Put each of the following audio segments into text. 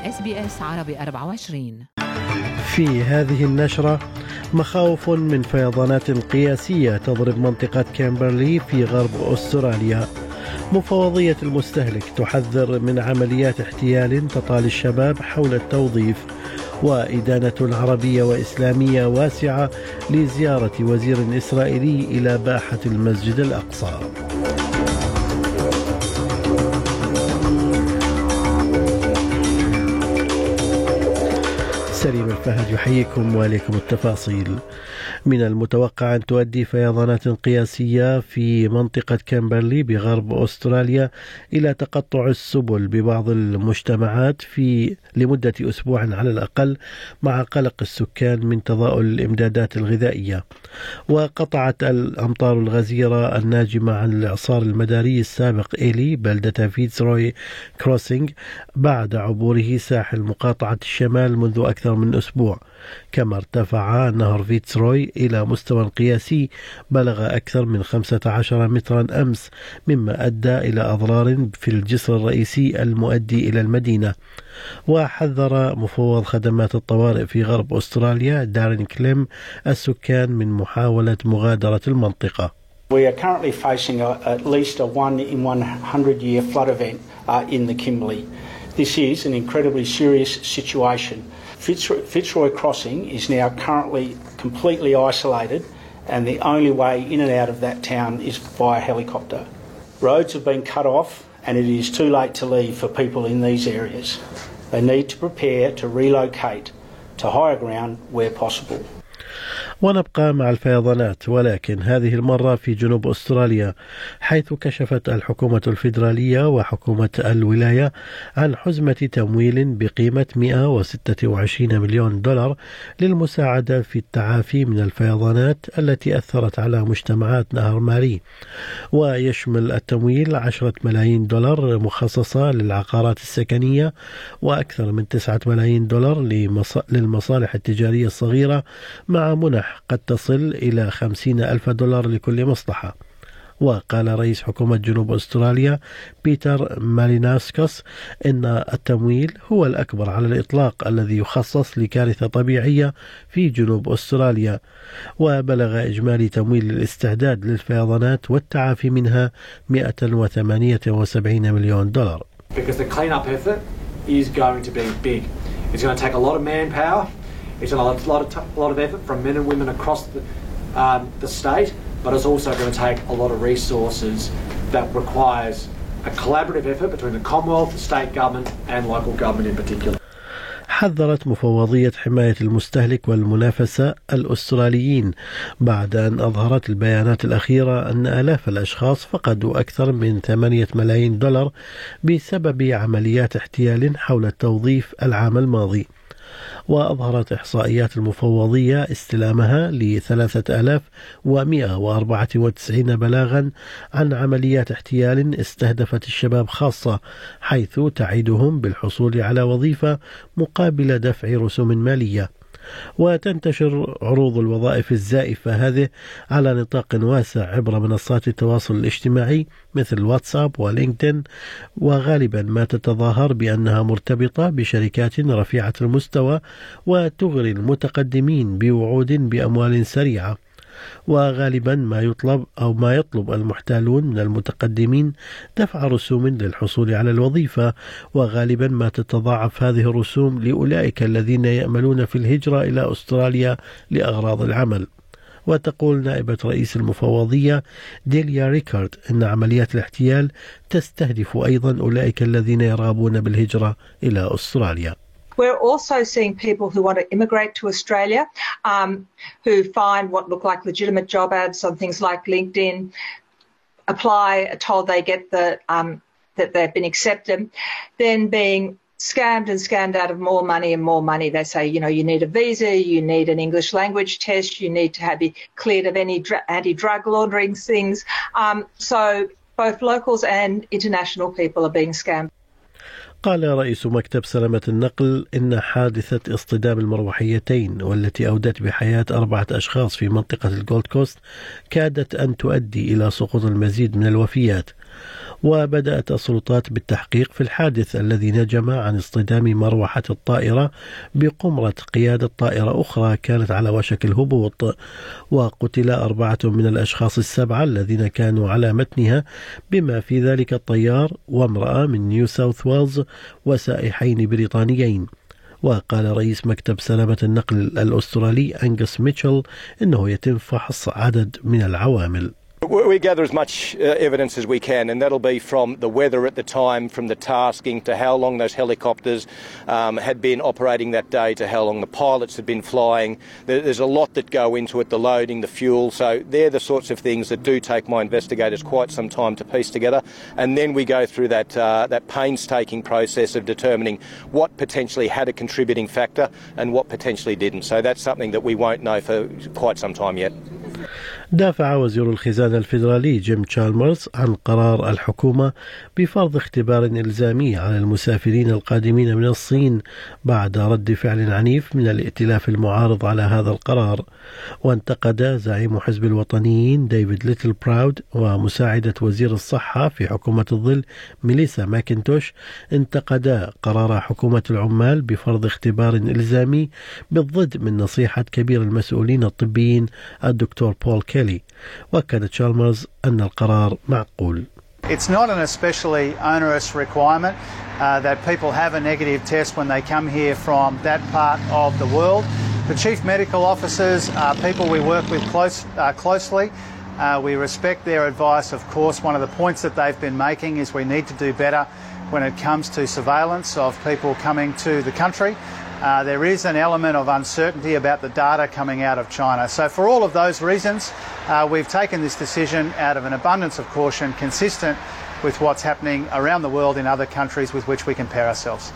SBS عربي 24. في هذه النشرة مخاوف من فيضانات قياسية تضرب منطقة كامبرلي في غرب أستراليا. مفوضية المستهلك تحذر من عمليات احتيال تطال الشباب حول التوظيف. وإدانة عربية وإسلامية واسعة لزيارة وزير إسرائيلي إلى باحة المسجد الأقصى. سليم الفهد يحييكم وإليكم التفاصيل. من المتوقع أن تؤدي فيضانات قياسية في منطقة كامبرلي بغرب أستراليا إلى تقطع السبل ببعض المجتمعات لمدة أسبوع على الأقل، مع قلق السكان من تضاؤل الإمدادات الغذائية. وقطعت الأمطار الغزيرة الناجمة عن الإعصار المداري السابق إيلي بلدة فيتزروي كروسينج بعد عبوره ساحل مقاطعة الشمال منذ أكثر من أسبوع. كما ارتفع نهر فيتزروي إلى مستوى قياسي بلغ أكثر من 15 مترا أمس، مما أدى إلى أضرار في الجسر الرئيسي المؤدي إلى المدينة. وحذر مفوض خدمات الطوارئ في غرب أستراليا دارين كليم السكان من محاولة مغادرة المنطقة. We are currently facing at least a 1 in 100 year flood event in the Kimberley. This is an incredibly serious situation. Fitzroy Crossing is now currently completely isolated, and the only way in and out of that town is via helicopter. Roads have been cut off and it is too late to leave for people in these areas. They need to prepare to relocate to higher ground where possible. ونبقى مع الفيضانات، ولكن هذه المرة في جنوب أستراليا، حيث كشفت الحكومة الفيدرالية وحكومة الولاية عن حزمة تمويل بقيمة 126 مليون دولار للمساعدة في التعافي من الفيضانات التي أثرت على مجتمعات نهر ماري. ويشمل التمويل 10 ملايين دولار مخصصة للعقارات السكنية، وأكثر من 9 ملايين دولار للمصالح التجارية الصغيرة، مع منح قد تصل إلى 50,000 دولار لكل مصلحة. وقال رئيس حكومة جنوب أستراليا بيتر ماليناسكوس إن التمويل هو الأكبر على الإطلاق الذي يخصص لكارثة طبيعية في جنوب أستراليا. وبلغ إجمالي تمويل الاستعداد للفيضانات والتعافي منها 178 مليون دولار. Because the clean-up effort is going to be big. It's going to take a lot of manpower. It's a lot of effort from men and women across the state, but it's also going to take a lot of resources that requires a collaborative effort between the Commonwealth, the state government and local government in particular. حذرت مفوضية حماية المستهلك والمنافسة الأستراليين بعد أن أظهرت البيانات الأخيرة أن آلاف الأشخاص فقدوا أكثر من 8 ملايين دولار بسبب عمليات احتيال حول التوظيف العام الماضي. وأظهرت إحصائيات المفوضية استلامها ل3194 بلاغا عن عمليات احتيال استهدفت الشباب خاصة، حيث تعيدهم بالحصول على وظيفة مقابل دفع رسوم مالية. وتنتشر عروض الوظائف الزائفة هذه على نطاق واسع عبر منصات التواصل الاجتماعي مثل واتساب ولينكدين، وغالبا ما تتظاهر بأنها مرتبطة بشركات رفيعة المستوى وتغري المتقدمين بوعود بأموال سريعة. وغالبا ما يطلب المحتالون من المتقدمين دفع رسوم للحصول على الوظيفة، وغالبا ما تتضاعف هذه الرسوم لأولئك الذين يأملون في الهجرة إلى أستراليا لأغراض العمل. وتقول نائبة رئيس المفوضية ديليا ريكارد إن عمليات الاحتيال تستهدف أيضا أولئك الذين يرغبون بالهجرة إلى أستراليا. We're also seeing people who want to immigrate to Australia, who find what look like legitimate job ads on things like LinkedIn, apply, are told they get that they've been accepted, then being scammed out of more money and more money. They say, you need a visa, you need an English language test, you need to be cleared of any anti-drug laundering things. So both locals and international people are being scammed. قال رئيس مكتب سلامة النقل إن حادثة اصطدام المروحيتين والتي أودت بحياة 4 أشخاص في منطقة الجولد كوست كادت أن تؤدي إلى سقوط المزيد من الوفيات. وبدأت السلطات بالتحقيق في الحادث الذي نجم عن اصطدام مروحة الطائرة بقمرة قيادة طائرة أخرى كانت على وشك الهبوط، وقتل 4 من الأشخاص 7 الذين كانوا على متنها بما في ذلك الطيار وامرأة من نيو ساوث ويلز وسائحين بريطانيين. وقال رئيس مكتب سلامة النقل الأسترالي أنغس ميتشل إنه يتم فحص عدد من العوامل. We gather as much evidence as we can, and that'll be from the weather at the time, from the tasking, to how long those helicopters had been operating that day, to how long the pilots had been flying. There's a lot that go into it, the loading, the fuel. So they're the sorts of things that do take my investigators quite some time to piece together. And then we go through that painstaking process of determining what potentially had a contributing factor and what potentially didn't. So that's something that we won't know for quite some time yet. دافع وزير الخزانة الفيدرالي جيم تشالمرز عن قرار الحكومة بفرض اختبار إلزامي على المسافرين القادمين من الصين بعد رد فعل عنيف من الائتلاف المعارض على هذا القرار. وانتقد زعيم حزب الوطنيين ديفيد ليتل براود ومساعدة وزير الصحة في حكومة الظل ميليسا ماكنتوش انتقدا قرار حكومة العمال بفرض اختبار إلزامي بالضد من نصيحة كبير المسؤولين الطبيين الدكتور بول كيلي. وأكد تشالمرز أن القرار معقول. It's not an especially onerous requirement that people have a negative test when they come here from that part of the world. The chief medical officers are people we work with closely. We respect their advice, of course. One of the points that they've been making is we need to do better when it comes to surveillance of people coming to the country. There is an element of uncertainty about the data coming out of China. So for all of those reasons, we've taken this decision out of an abundance of caution, consistent with what's happening around the world in other countries with which we compare ourselves.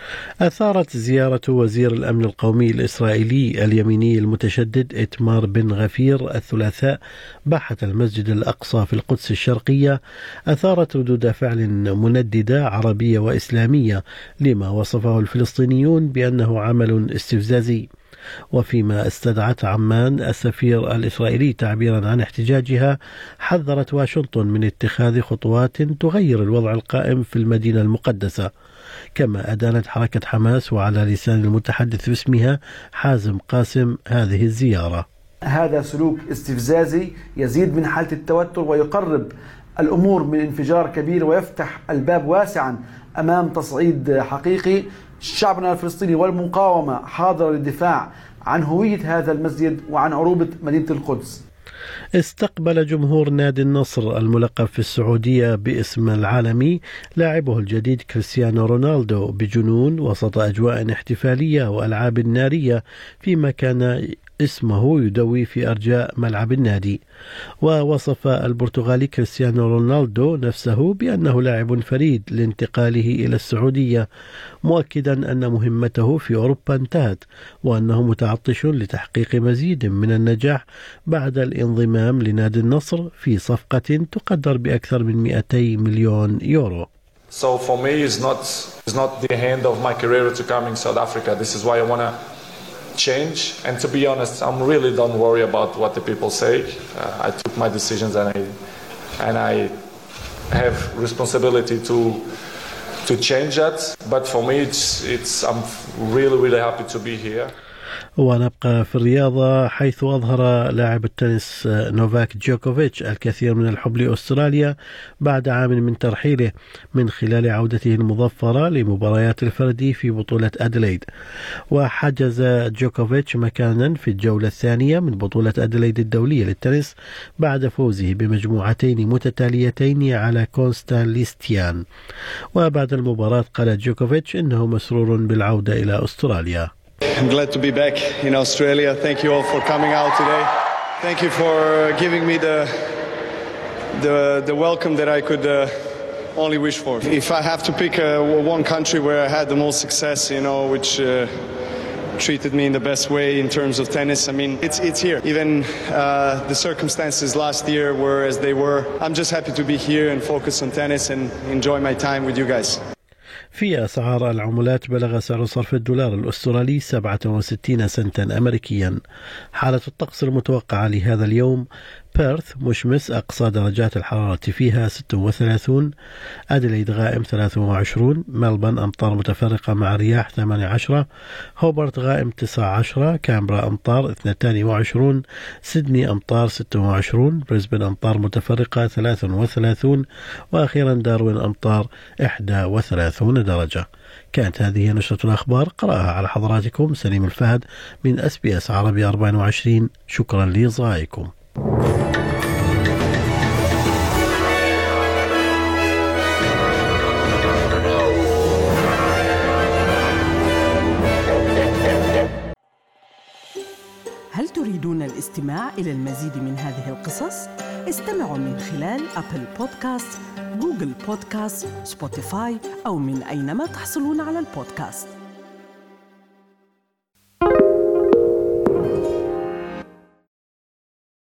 أثارت زيارة وزير الأمن القومي الإسرائيلي اليميني المتشدد إتمار بن غفير الثلاثاء باحة المسجد الأقصى في القدس الشرقية أثارت ردود فعل منددة عربية وإسلامية لما وصفه الفلسطينيون بأنه عمل استفزازي. وفيما استدعت عمان السفير الإسرائيلي تعبيرا عن احتجاجها، حذرت واشنطن من اتخاذ خطوات تغير الوضع القائم في المدينة المقدسة. كما أدانت حركة حماس وعلى لسان المتحدث باسمها حازم قاسم هذه الزيارة. هذا سلوك استفزازي يزيد من حالة التوتر ويقرب الأمور من انفجار كبير ويفتح الباب واسعا أمام تصعيد حقيقي. شعبنا الفلسطيني والمقاومة حاضر للدفاع عن هوية هذا المسجد وعن عروبة مدينة القدس. استقبل جمهور نادي النصر الملقب في السعودية باسم العالمي لاعبه الجديد كريستيانو رونالدو بجنون وسط أجواء احتفالية وألعاب نارية فيما كان اسمه يدوي في أرجاء ملعب النادي. ووصف البرتغالي كريستيانو رونالدو نفسه بأنه لاعب فريد لانتقاله إلى السعودية، مؤكدا أن مهمته في أوروبا انتهت وأنه متعطش لتحقيق مزيد من النجاح بعد الانضمام لنادي النصر في صفقة تقدر بأكثر من 200 مليون يورو. So for me it's not the end of my career to come in South Africa. This is why I want to change, and to be honest, I'm really don't worry about what the people say. I took my decisions and I have responsibility to change that. But for me, I'm really happy to be here. ونبقى في الرياضة، حيث أظهر لاعب التنس نوفاك جوكوفيتش الكثير من الحب لأستراليا بعد عام من ترحيله من خلال عودته المظفرة لمباريات الفردي في بطولة أديلايد. وحجز جوكوفيتش مكانا في الجولة الثانية من بطولة أديلايد الدولية للتنس بعد فوزه بمجموعتين متتاليتين على كونستانليستيان. وبعد المباراة قال جوكوفيتش إنه مسرور بالعودة إلى أستراليا. I'm glad to be back in Australia. Thank you all for coming out today. Thank you for giving me the welcome that I could only wish for. If I have to pick one country where I had the most success, which treated me in the best way in terms of tennis, I mean, it's here. Even the circumstances last year were as they were. I'm just happy to be here and focus on tennis and enjoy my time with you guys. في أسعار العملات بلغ سعر صرف الدولار الأسترالي 67 سنتا أمريكيا. حالة الطقس المتوقعة لهذا اليوم: بيرث مشمس أقصى درجات الحرارة فيها 36. أديليد غائم 23. ملبن أمطار متفرقة مع رياح 18. هوبرت غائم 19. كامبرا أمطار 22. سيدني أمطار 26. بريسبن أمطار متفرقة 33. وأخيرا داروين أمطار 31 درجة. كانت هذه نشرة الأخبار قرأها على حضراتكم سليم الفهد من SBS عربي 24. شكرا لإصغائكم. هل تريدون الاستماع إلى المزيد من هذه القصص؟ استمعوا من خلال أبل بودكاست، جوجل بودكاست، سبوتيفاي أو من أينما تحصلون على البودكاست.